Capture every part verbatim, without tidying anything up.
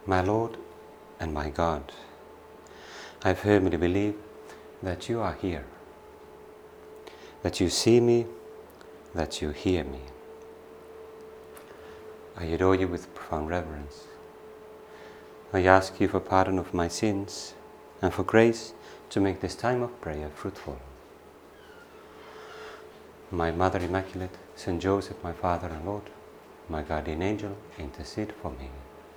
My Lord and my God, I firmly believe that you are here, that you see me, that you hear me. I adore you with profound reverence. I ask you for pardon of my sins and for grace to make this time of prayer fruitful. My Mother Immaculate, Saint Joseph, my Father and Lord, my guardian angel, intercede for me.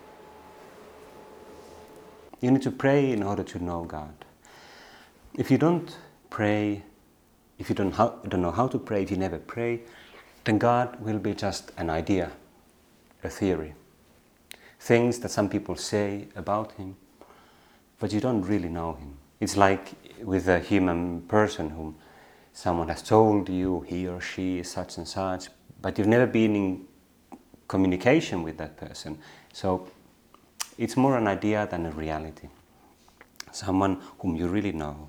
You need to pray in order to know God. If you don't pray, if you don't, how, don't know how to pray, if you never pray, then God will be just an idea, a theory. Things that some people say about Him, but you don't really know Him. It's like with a human person whom someone has told you he or she is such and such, but you've never been in communication with that person. So it's more an idea than a reality. Someone whom you really know.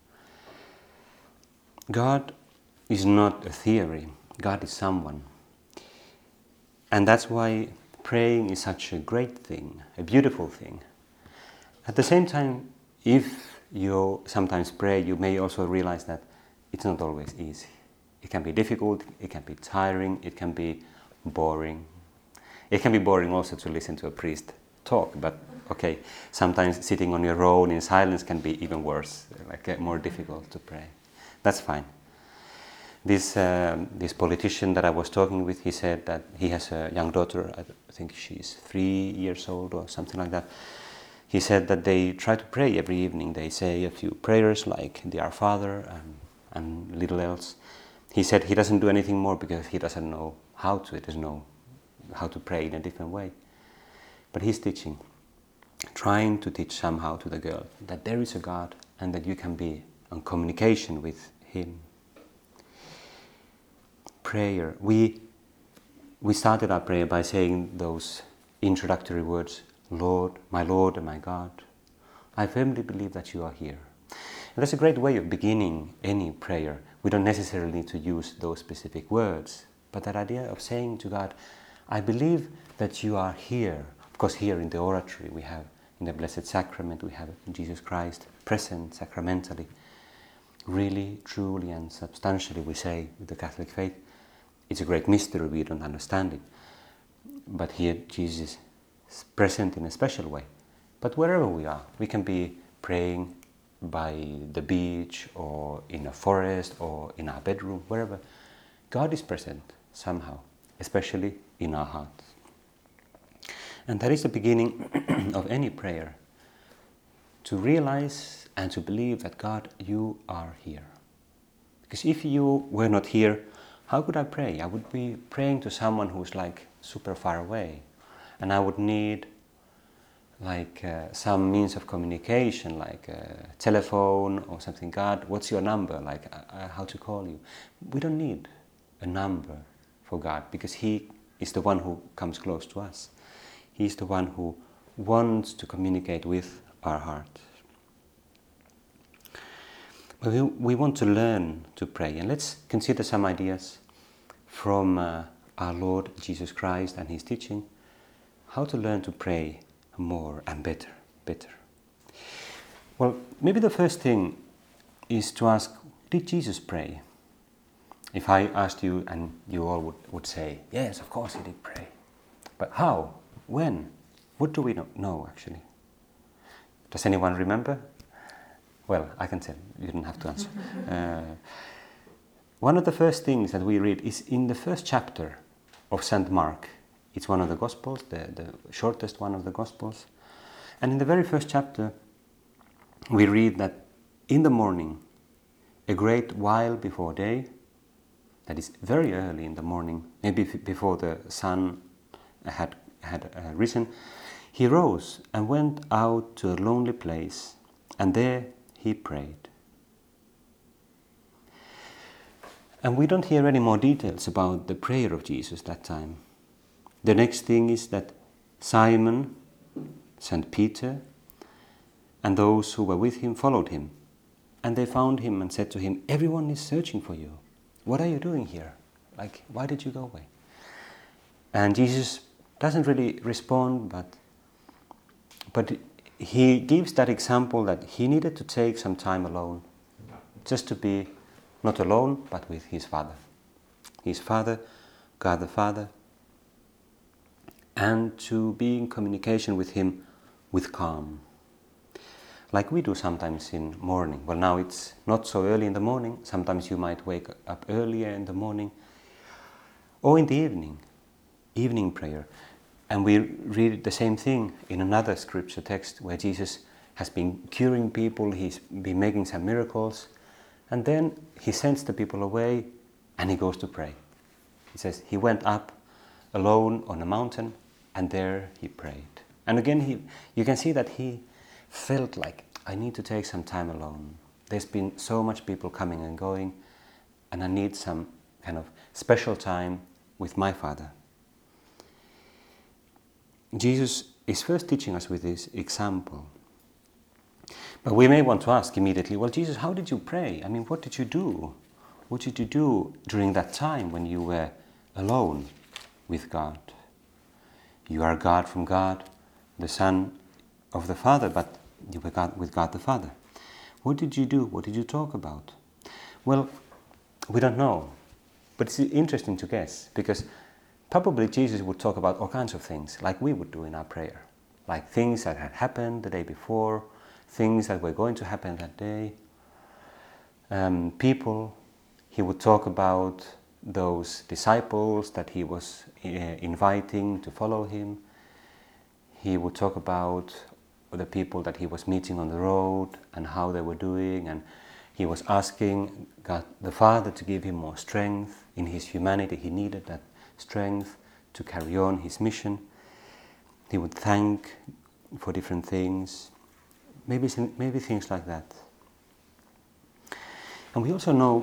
God is not a theory. God is someone. And that's why praying is such a great thing, a beautiful thing. At the same time, if you sometimes pray, you may also realize that it's not always easy. It can be difficult, it can be tiring, it can be boring. It can be boring also to listen to a priest talk, but okay, sometimes sitting on your own in silence can be even worse, like uh, more difficult to pray. That's fine. This um, this politician that I was talking with, he said that he has a young daughter, I think she's three years old or something like that. He said that they try to pray every evening. They say a few prayers like the Our Father and, and little else. He said he doesn't do anything more because he doesn't know how to, he doesn't know how to pray in a different way. But he's teaching, trying to teach somehow to the girl that there is a God and that you can be in communication with Him. Prayer. We, we started our prayer by saying those introductory words, Lord, my Lord and my God, I firmly believe that you are here. And that's a great way of beginning any prayer. We don't necessarily need to use those specific words, but that idea of saying to God, I believe that you are here. Of course, here in the oratory we have, in the Blessed Sacrament, we have Jesus Christ present sacramentally. Really, truly and substantially, we say with the Catholic faith, it's a great mystery, we don't understand it. But here Jesus is present in a special way. But wherever we are, we can be praying by the beach or in a forest or in our bedroom, wherever. God is present somehow, especially in our hearts. And that is the beginning of any prayer, to realize and to believe that God, you are here. Because if you were not here, how could I pray? I would be praying to someone who's like super far away, and I would need like uh, some means of communication, like a telephone or something. God, what's your number? Like uh, how to call you? We don't need a number for God because He is the one who comes close to us. He's the one who wants to communicate with our heart. But we, we want to learn to pray, and let's consider some ideas from uh, our Lord Jesus Christ and His teaching, how to learn to pray more and better, better. Well, maybe the first thing is to ask, did Jesus pray? If I asked you and you all would, would say, yes, of course He did pray. But how? When? What do we not know actually? Does anyone remember? Well, I can tell, you don't have to answer. uh, one of the first things that we read is in the first chapter of Saint Mark. It's one of the Gospels, the, the shortest one of the Gospels. And in the very first chapter, we read that in the morning, a great while before day, that is very early in the morning, maybe before the sun had, had uh, risen, he rose and went out to a lonely place, and there he prayed. And we don't hear any more details about the prayer of Jesus that time. The next thing is that Simon, Saint Peter, and those who were with him followed him. And they found him and said to him, everyone is searching for you. What are you doing here? Like, why did you go away? And Jesus doesn't really respond, but but he gives that example that he needed to take some time alone, just to be not alone, but with his Father. His Father, God the Father, and to be in communication with him with calm. Like we do sometimes in morning. Well, now it's not so early in the morning. Sometimes you might wake up earlier in the morning or in the evening, evening prayer. And we read the same thing in another scripture text where Jesus has been curing people, he's been making some miracles, and then he sends the people away and he goes to pray. He says he went up alone on a mountain and there he prayed. And again, he, you can see that he felt like, I need to take some time alone. There's been so much people coming and going, and I need some kind of special time with my Father. Jesus is first teaching us with this example. But we may want to ask immediately, well, Jesus, how did you pray? I mean, what did you do? What did you do during that time when you were alone with God? You are God from God, the Son of the Father, but you were God with God the Father. What did you do? What did you talk about? Well, we don't know, but it's interesting to guess, because probably Jesus would talk about all kinds of things, like we would do in our prayer, like things that had happened the day before, things that were going to happen that day, um, people. He would talk about those disciples that he was uh, inviting to follow him. He would talk about the people that he was meeting on the road and how they were doing, and he was asking God the Father to give him more strength. In his humanity he needed that strength to carry on his mission. He would thank for different things, maybe, maybe things like that. And we also know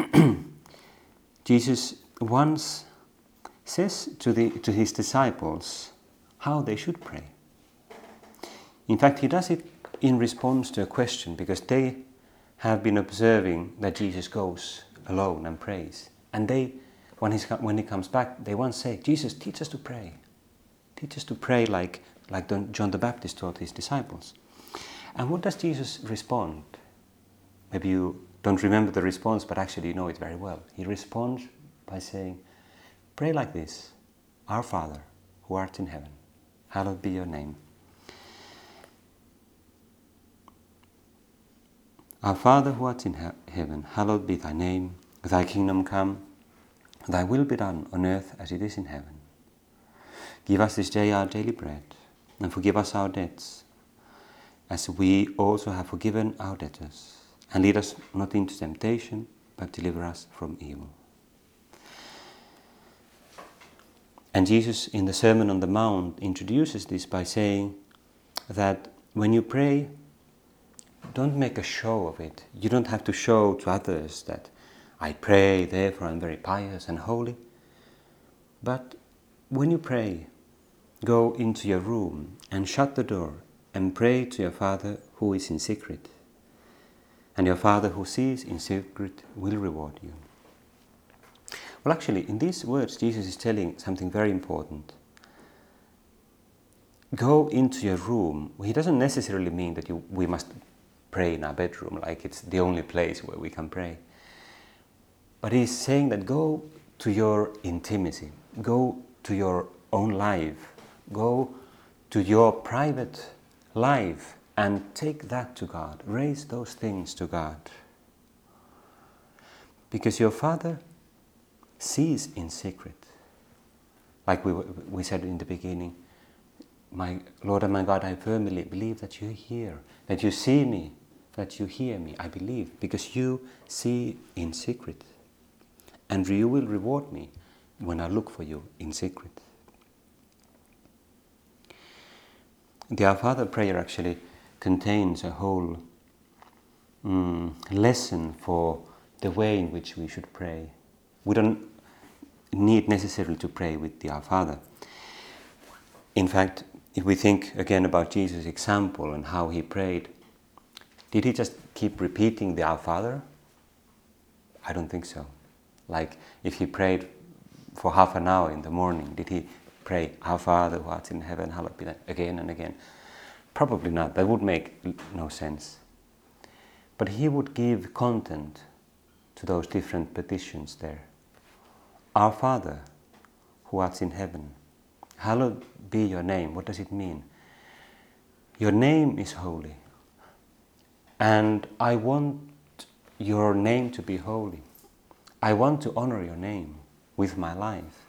Jesus once says to, the, to his disciples how they should pray. In fact, he does it in response to a question, because they have been observing that Jesus goes alone and prays. And they, when, he's, when he comes back, they once say, Jesus, teach us to pray. Teach us to pray like, like John the Baptist taught his disciples. And what does Jesus respond? Maybe you don't remember the response, but actually you know it very well. He responds by saying, pray like this: Our Father, who art in heaven, hallowed be your name. Our Father who art in he- heaven, hallowed be thy name. Thy kingdom come, thy will be done on earth as it is in heaven. Give us this day our daily bread, and forgive us our debts, as we also have forgiven our debtors. And lead us not into temptation, but deliver us from evil. And Jesus, in the Sermon on the Mount, introduces this by saying that when you pray, don't make a show of it. You don't have to show to others that I pray, therefore I'm very pious and holy. But when you pray, go into your room and shut the door and pray to your Father who is in secret. And your Father who sees in secret will reward you. Well, actually, in these words, Jesus is telling something very important. Go into your room. He doesn't necessarily mean that you, we must pray in our bedroom, like it's the only place where we can pray. But he's saying that go to your intimacy, go to your own life, go to your private life and take that to God. Raise those things to God. Because your Father sees in secret. Like we, we said in the beginning, my Lord and my God, I firmly believe that you hear, that you see me, that you hear me. I believe, because you see in secret. And you will reward me when I look for you in secret. The Our Father prayer actually contains a whole um, lesson for the way in which we should pray. We don't need necessarily to pray with the Our Father. In fact, if we think again about Jesus' example and how he prayed, did he just keep repeating the Our Father? I don't think so. Like if he prayed for half an hour in the morning, did he pray, Our Father who art in heaven, hallowed be thy name, again and again? Probably not. That would make no sense. But he would give content to those different petitions there. Our Father, who art in heaven, hallowed be your name. What does it mean? Your name is holy. And I want your name to be holy. I want to honor your name with my life.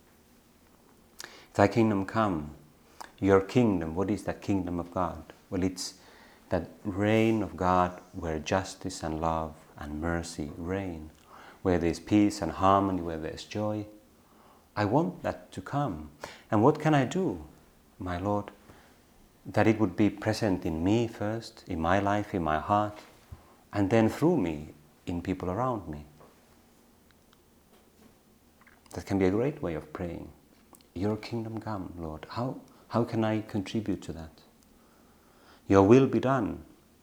Thy kingdom come. Your kingdom, what is that kingdom of God? Well, it's that reign of God where justice and love and mercy reign, where there's peace and harmony, where there's joy. I want that to come. And what can I do, my Lord? That it would be present in me first, in my life, in my heart, and then through me, in people around me. That can be a great way of praying. Your kingdom come, Lord. How, how can I contribute to that? Your will be done.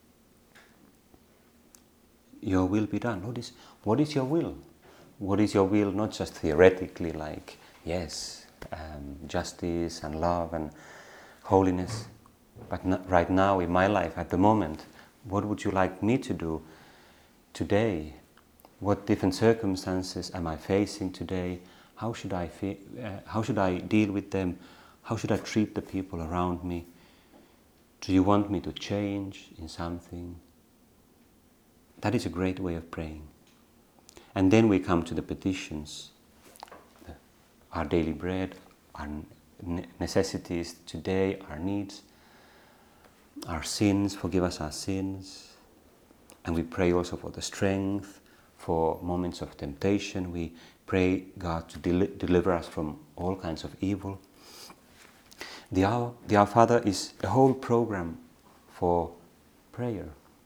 Your will be done. What is, what is your will? What is your will, not just theoretically, like, yes, um, justice and love and holiness, but not right now in my life, at the moment, what would you like me to do today? What different circumstances am I facing today? How should I feel, uh, how should I deal with them? How should I treat the people around me? Do you want me to change in something? That is a great way of praying. And then we come to the petitions, the, our daily bread, our necessities today, our needs, our sins, forgive us our sins. And we pray also for the strength, for moments of temptation. We pray God to del- deliver us from all kinds of evil. The Our, the Our Father is a whole program for prayer.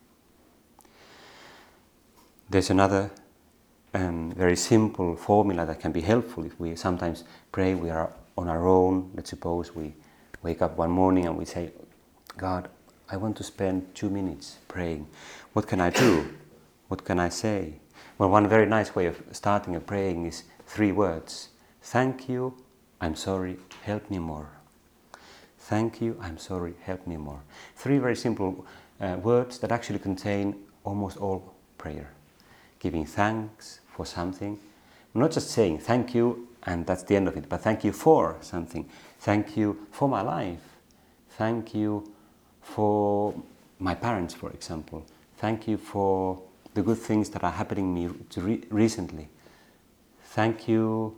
There's another um, very simple formula that can be helpful if we sometimes pray, we are on our own. Let's suppose we wake up one morning and we say, God, I want to spend two minutes praying. What can I do? What can I say? Well, one very nice way of starting a praying is three words. Thank you, I'm sorry, help me more. Thank you, I'm sorry, help me more. Three very simple uh, words that actually contain almost all prayer. Giving thanks for something. Not just saying thank you and that's the end of it, but thank you for something. Thank you for my life. Thank you for my parents, for example. Thank you for the good things that are happening me to re- recently. Thank you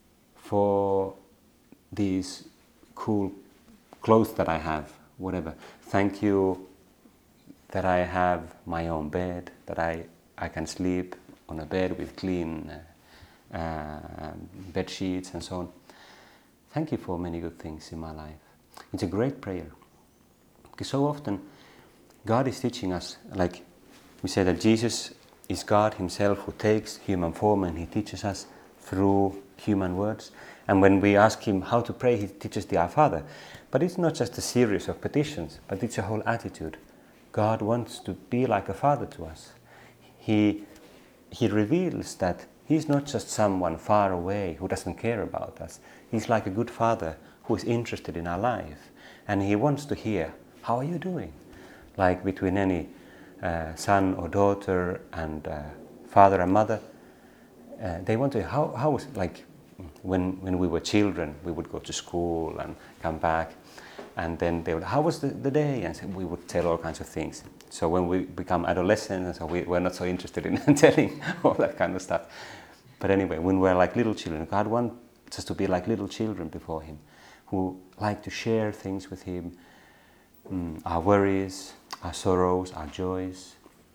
for these cool clothes that I have, whatever. Thank you that I have my own bed, that I, I can sleep on a bed with clean uh, uh, bed sheets and so on. Thank you for many good things in my life. It's a great prayer. Because so often God is teaching us, like we say that Jesus is God himself who takes human form and he teaches us through human words. And when we ask him how to pray, he teaches the Our Father. But it's not just a series of petitions, but it's a whole attitude. God wants to be like a father to us. He, he reveals that he's not just someone far away who doesn't care about us. He's like a good father who is interested in our life. And he wants to hear, how are you doing? Like between any uh, son or daughter and uh, father and mother, uh, they want to, how, how was, like when, when we were children, we would go to school and come back. And then they would, how was the, the day? And so we would tell all kinds of things. So when we become adolescents, so we, we're not so interested in telling all that kind of stuff. But anyway, when we're like little children, God wants us to be like little children before him, who like to share things with him, mm, our worries, our sorrows, our joys.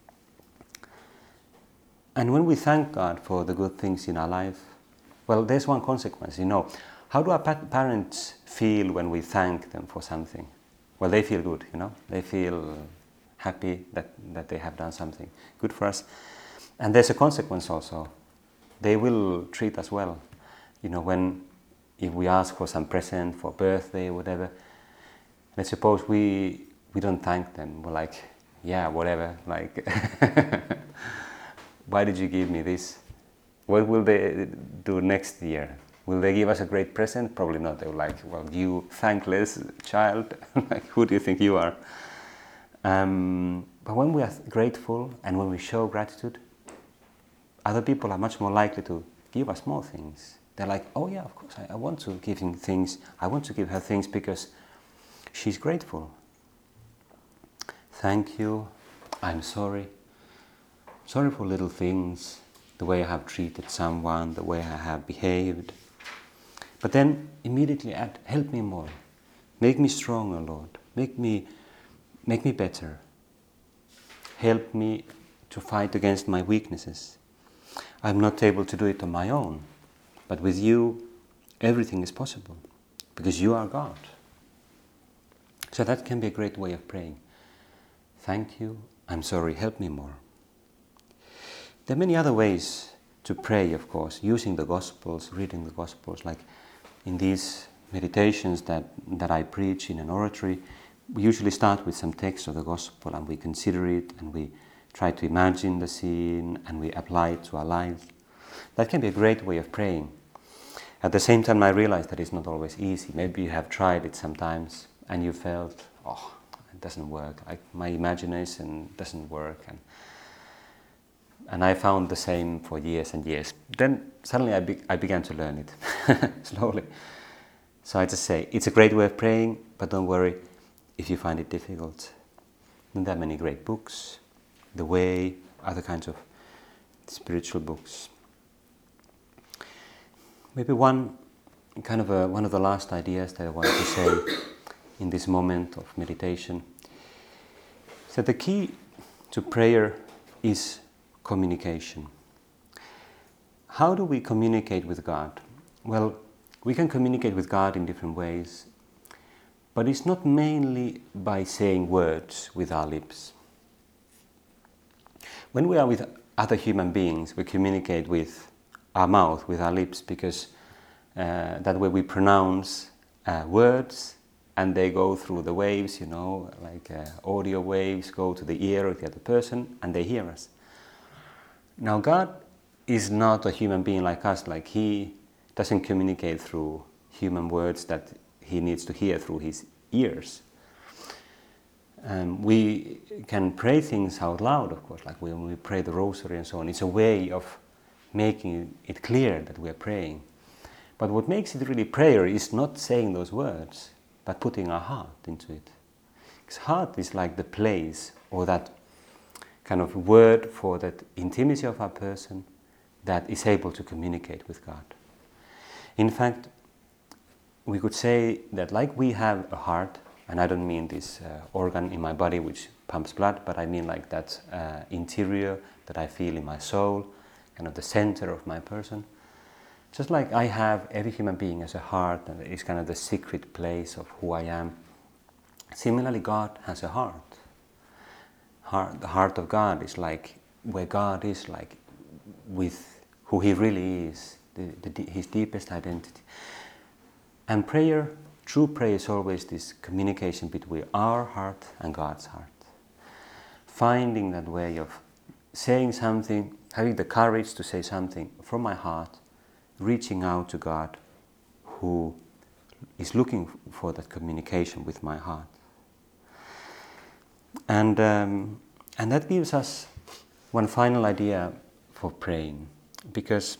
And when we thank God for the good things in our life, well, there's one consequence, you know. How do our pa- parents feel when we thank them for something? Well, they feel good, you know. They feel happy that, that they have done something good for us. And there's a consequence also. They will treat us well. You know, when if we ask for some present for birthday or whatever, let's suppose we we don't thank them. We're like, yeah, whatever, like, why did you give me this? What will they do next year? Will they give us a great present? Probably not. They were like, well, you thankless child, like, who do you think you are? Um, but when we are grateful and when we show gratitude, other people are much more likely to give us more things. They're like, oh yeah, of course, I, I want to give him things. I want to give her things because she's grateful. Thank you. I'm sorry. Sorry for little things, the way I have treated someone, the way I have behaved. But then immediately add, help me more. Make me stronger, Lord. Make me, make me better. Help me to fight against my weaknesses. I'm not able to do it on my own. But with you, everything is possible. Because you are God. So that can be a great way of praying. Thank you. I'm sorry. Help me more. There are many other ways to pray, of course, using the Gospels, reading the Gospels, like in these meditations that, that I preach in an oratory. We usually start with some text of the Gospel and we consider it and we try to imagine the scene and we apply it to our lives. That can be a great way of praying. At the same time, I realize that it's not always easy. Maybe you have tried it sometimes and you felt, oh, it doesn't work. I, my imagination doesn't work. And And I found the same for years and years. Then suddenly I, be I began to learn it, slowly. So I just say, it's a great way of praying, but don't worry if you find it difficult. And there are many great books, The Way, other kinds of spiritual books. Maybe one kind of a, one of the last ideas that I want to say in this moment of meditation is that the key to prayer is communication. How do we communicate with God? Well, we can communicate with God in different ways, but it's not mainly by saying words with our lips. When we are with other human beings, we communicate with our mouth, with our lips, because uh, that way we pronounce uh, words and they go through the waves, you know, like uh, audio waves go to the ear of the other person and they hear us. Now, God is not a human being like us, like He doesn't communicate through human words that He needs to hear through His ears. Um, we can pray things out loud, of course, like when we pray the rosary and so on. It's a way of making it clear that we are praying. But what makes it really prayer is not saying those words, but putting our heart into it. Because heart is like the place, or that kind of word for that intimacy of our person that is able to communicate with God. In fact, we could say that like we have a heart, and I don't mean this uh, organ in my body which pumps blood, but I mean like that uh, interior that I feel in my soul, kind of the center of my person. Just like I have, every human being has a heart, and it's kind of the secret place of who I am. Similarly, God has a heart. Heart, the heart of God is like where God is, like with who He really is, the, the, His deepest identity. And prayer, true prayer, is always this communication between our heart and God's heart. Finding that way of saying something, having the courage to say something from my heart, reaching out to God, who is looking for that communication with my heart. And, um, and that gives us one final idea for praying, because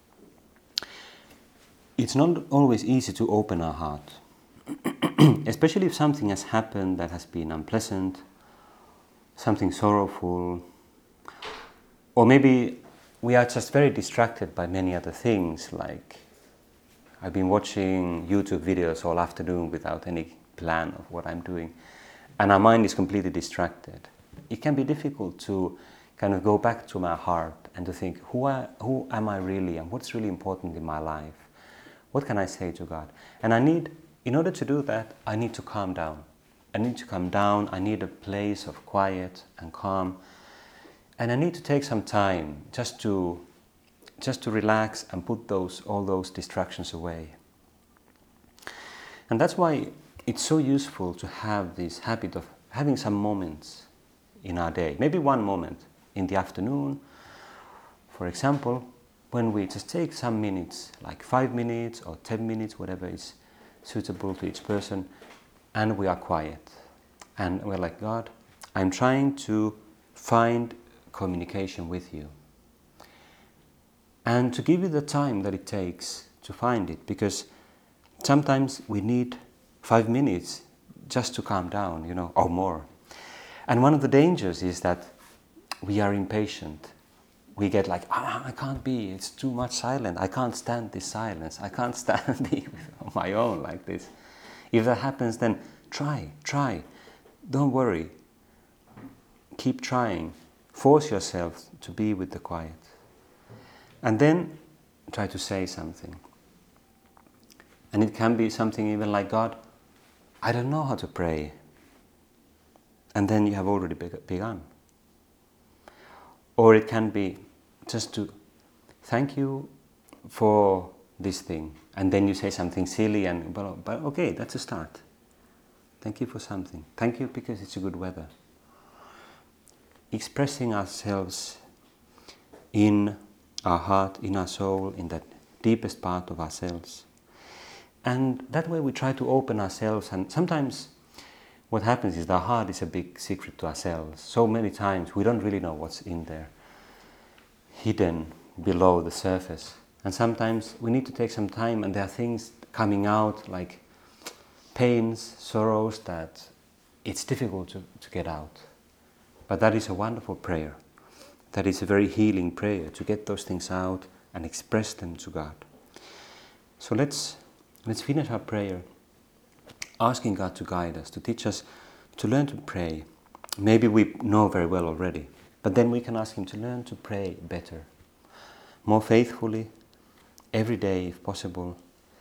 it's not always easy to open our heart, especially if something has happened that has been unpleasant, something sorrowful, or maybe we are just very distracted by many other things, like I've been watching YouTube videos all afternoon without any plan of what I'm doing, and our mind is completely distracted. It can be difficult to kind of go back to my heart and to think, who, I, who am I really, and what's really important in my life? What can I say to God? And I need, in order to do that, I need to calm down. I need to calm down, I need a place of quiet and calm. And I need to take some time just to, just to relax and put those, all those distractions away. And that's why it's so useful to have this habit of having some moments in our day. Maybe one moment in the afternoon, for example, when we just take some minutes, like five minutes or ten minutes, whatever is suitable to each person, and we are quiet. And we're like, God, I'm trying to find communication with you. And to give you the time that it takes to find it, because sometimes we need five minutes just to calm down, you know, or more. And one of the dangers is that we are impatient. We get like, ah, I can't be, it's too much silence. I can't stand this silence. I can't stand being on my own like this. If that happens, then try, try. Don't worry. Keep trying. Force yourself to be with the quiet. And then try to say something. And it can be something even like, God, I don't know how to pray. And then you have already begun. Or it can be just to thank you for this thing. And then you say something silly and, but, but okay, that's a start. Thank you for something. Thank you because it's a good weather. Expressing ourselves in our heart, in our soul, in that deepest part of ourselves. And that way we try to open ourselves, and sometimes what happens is our heart is a big secret to ourselves. So many times we don't really know what's in there, hidden below the surface. And sometimes we need to take some time, and there are things coming out like pains, sorrows that it's difficult to, to get out. But that is a wonderful prayer. That is a very healing prayer, to get those things out and express them to God. So let's let's finish our prayer asking God to guide us, to teach us to learn to pray. Maybe we know very well already, but then we can ask Him to learn to pray better, more faithfully, every day if possible,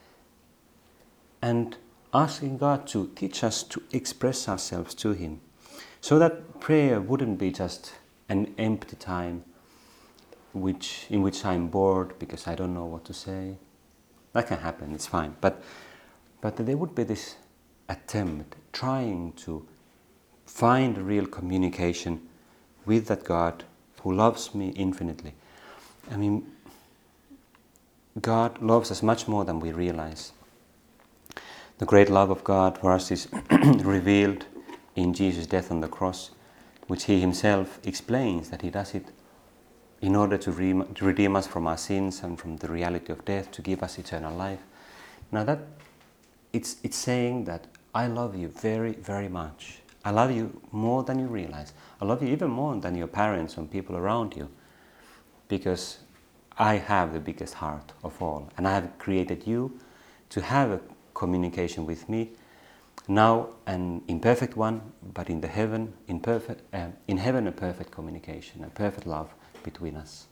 and asking God to teach us to express ourselves to Him, so that prayer wouldn't be just an empty time which in which I'm bored because I don't know what to say. That can happen, it's fine. But but there would be this attempt, trying to find real communication with that God who loves me infinitely. I mean, God loves us much more than we realize. The great love of God for us is revealed in Jesus' death on the cross, which He Himself explains that He does it in order to, re- to redeem us from our sins and from the reality of death, to give us eternal life. Now that, it's, it's saying that I love you very, very much. I love you more than you realize. I love you even more than your parents and people around you, because I have the biggest heart of all, and I have created you to have a communication with me, now an imperfect one, but in the heaven, in perfect, uh, in heaven a perfect communication, a perfect love between us.